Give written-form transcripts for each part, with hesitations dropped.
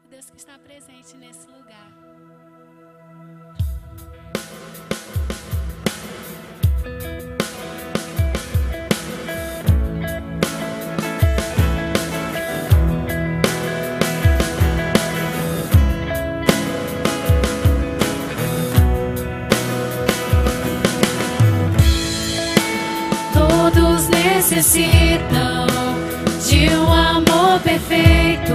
Deus que está presente nesse lugar. Todos necessitam de um amor perfeito,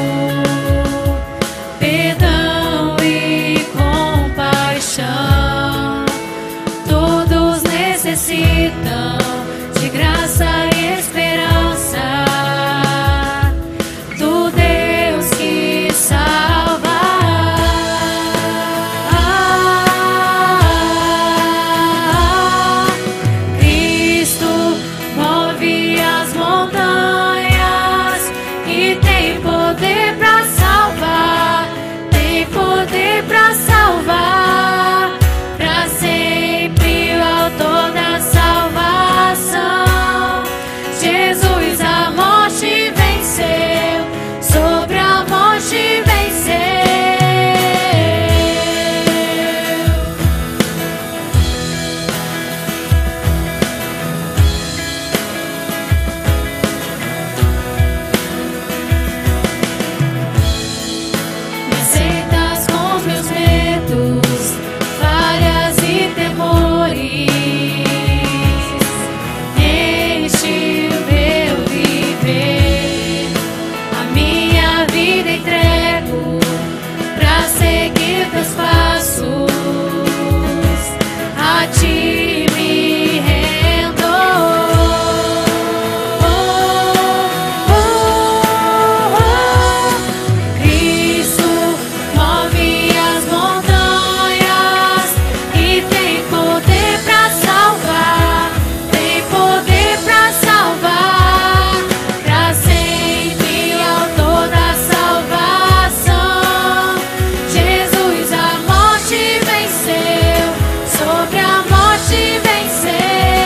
perdão e compaixão. Todos necessitam de graça e esperança do Deus que salva. Cristo move as montanhas e tem poder para salvar, tem poder para salvar, para sempre o autor da salvação. Jesus a morte venceu, sobre a morte venceu. Me aceitas com os meus medos, falhas e temores. Enche o meu viver, a minha vida entrego pra seguir teus passos. A ti me rendo. Cristo move as montanhas e tem poder pra salvar, tem poder pra salvar, pra sempre o autor da salvação. Jesus a morte venceu, sobre a morte venceu.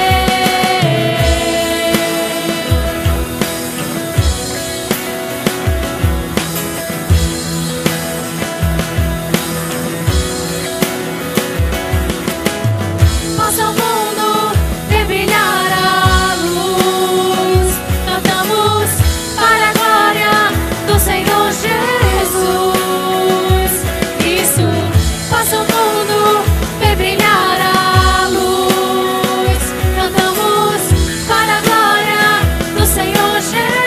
Possa o mundo ver brilhar a luz. Cantamos para a glória do Senhor Jesus. Isso, possa o mundo ver brilhar a luz. Cantamos para a glória do Senhor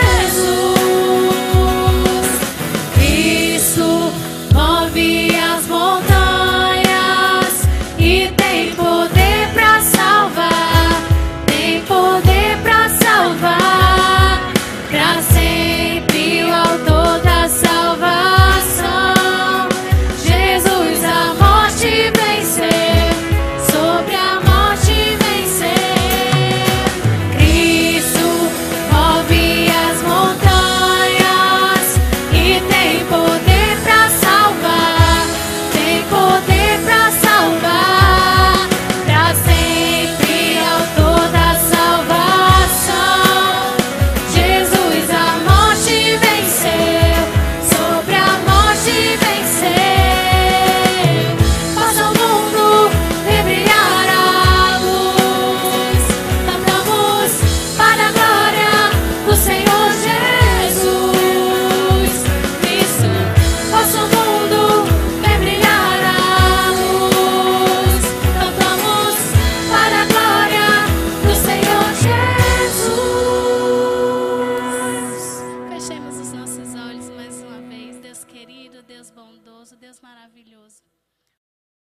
Jesus. Cristo move as montanhas e tem poder pra salvar, tem poder pra salvar, pra sempre o autor da salvação. Jesus a morte venceu, sobre a morte venceu. Cristo move as montanhas e tem poder pra salvar, tem poder pra salvar, pra sempre autor da salvação. Jesus a morte venceu, sobre a morte venceu. Possa o mundo ver brilhar a luz. Cantamos para a glória do Senhor Jesus. Isso, possa o mundo ver brilhar a luz. Cantamos para a glória do Senhor Jesus. Fechemos os nossos olhos mais uma vez. Deus querido, Deus bondoso, Deus maravilhoso.